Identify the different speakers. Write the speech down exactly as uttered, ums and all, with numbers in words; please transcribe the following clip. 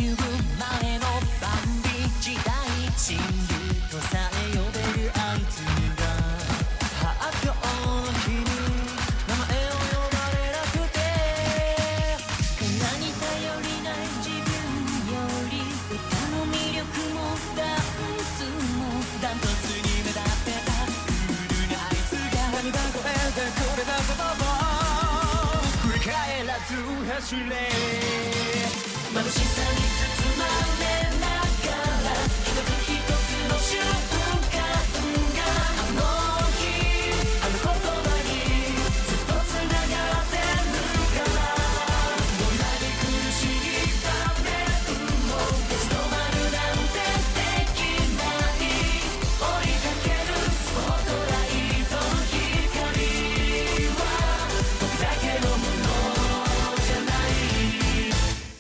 Speaker 1: ビュー前のバンビ時代親友とさえ呼べるあいつが発表の日に名前を呼ばれなくてこんなに頼りない自分より歌の魅力もダンスもダントツに目立ってたクールなあいつが涙声でくれた言葉振り返らず走れ眩しさに